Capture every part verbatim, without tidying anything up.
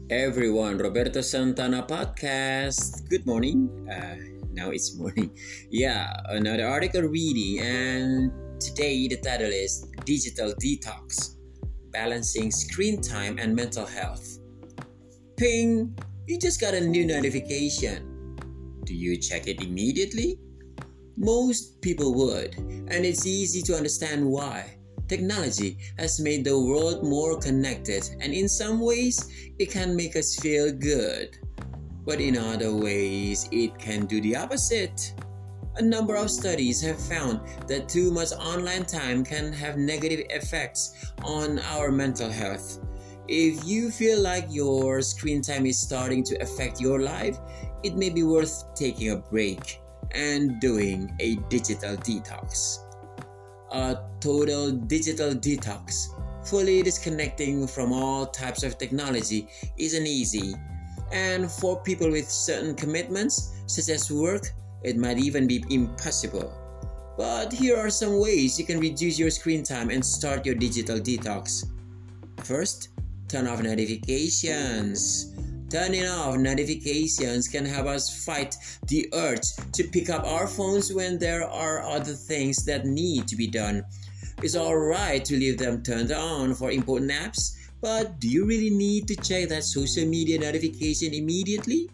Everyone, Roberto Santana podcast. Good morning. Uh, now it's morning. Yeah, another article reading, and today the title is Digital Detox Balancing Screen Time and Mental Health. Ping! You just got a new notification. Do you check it immediately? Most people would, and it's easy to understand why. Technology has made the world more connected, and in some ways, it can make us feel good. But in other ways, it can do the opposite. A number of studies have found that too much online time can have negative effects on our mental health. If you feel like your screen time is starting to affect your life, it may be worth taking a break and doing a digital detox. A total digital detox, fully disconnecting from all types of technology, isn't easy. And for people with certain commitments, such as work, it might even be impossible. But here are some ways you can reduce your screen time and start your digital detox. First, turn off notifications. Turning off notifications can help us fight the urge to pick up our phones when there are other things that need to be done. It's alright to leave them turned on for important apps, but do you really need to check that social media notification immediately?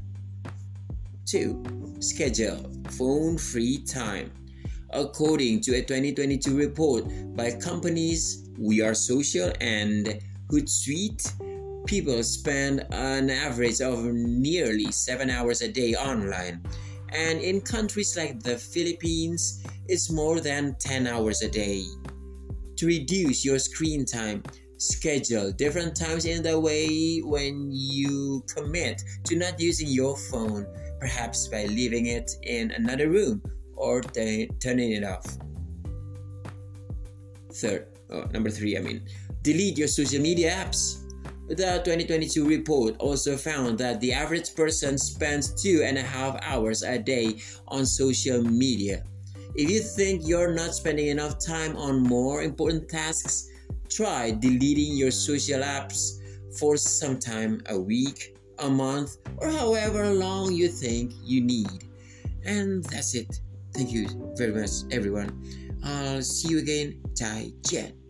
two. Schedule phone-free time. According to a twenty twenty-two report by companies We Are Social and Hootsuite, people spend an average of nearly seven hours a day online, and in countries like the Philippines, it's more than ten hours a day. To reduce your screen time, schedule different times in the way when you commit to not using your phone, perhaps by leaving it in another room or t- turning it off. Third, oh, number three, I mean, delete your social media apps. The twenty twenty-two report also found that the average person spends two and a half hours a day on social media. If you think you're not spending enough time on more important tasks, try deleting your social apps for some time, a week, a month, or however long you think you need. And that's it. Thank you very much, everyone. I'll see you again. 再见.